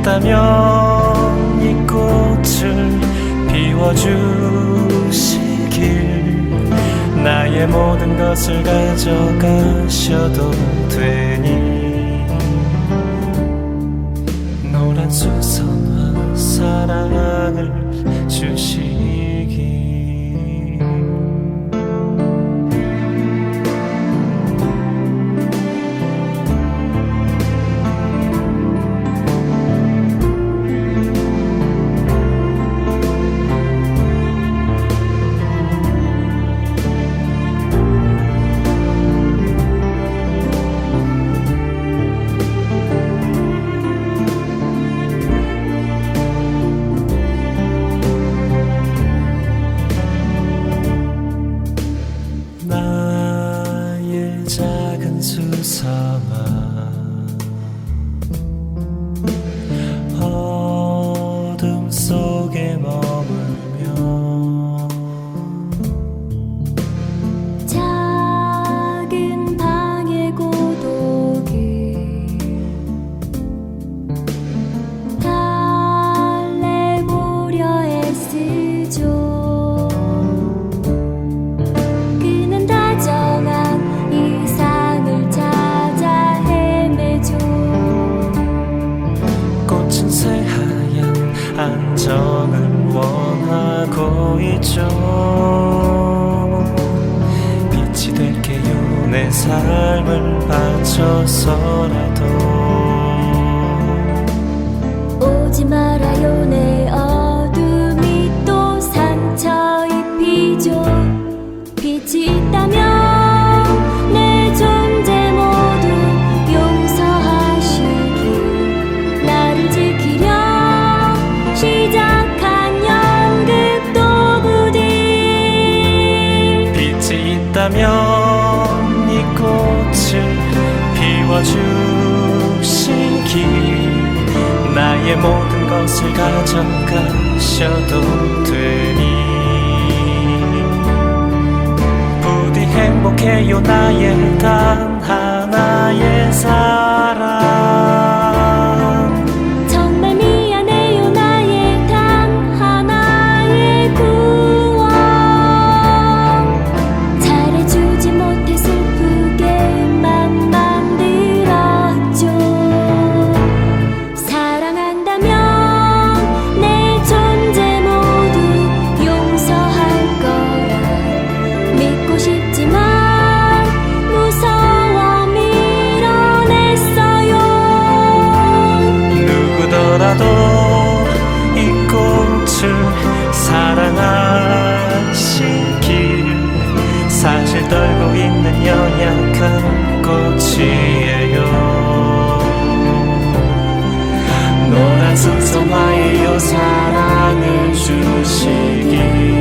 있다면 이 꽃을 피워주시길. 나의 모든 것을 가져가셔도 되니 노란 수선화 사랑을 주시기. 나의 작은 수상아, 어둠 속에 머물며 작은 방의 고독을 달래보려 애쓰죠. 안정을 원하고 있죠. 빛이 될게요. 내 삶을 바쳐서라도 오지 말아요. 내 어둠이 또 상처 입히죠. 빛이 있다면 내 존재 모두 용서하시길. 나를 지키려 시작한 연극도 부디 빛이 있다면 이 꽃을 피워주시길. 나의 모든 것을 가져가셔도 되니 부디 행복해요. 나의 단 하나의 사랑. 이 꽃을 사랑하시길. 사실 떨고 있는 연약한 꽃이에요. 노란 수선화에요. 사랑을 주시길.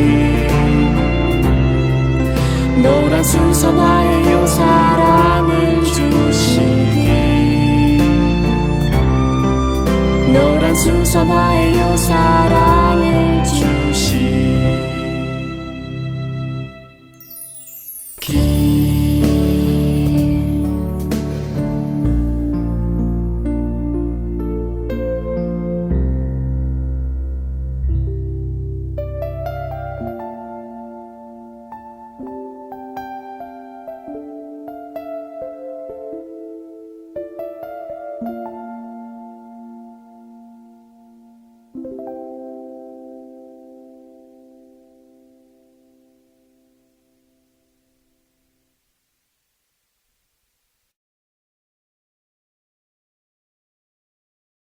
노란 수선화에요. 사랑을 주시길. 노란 수선화에요. 사랑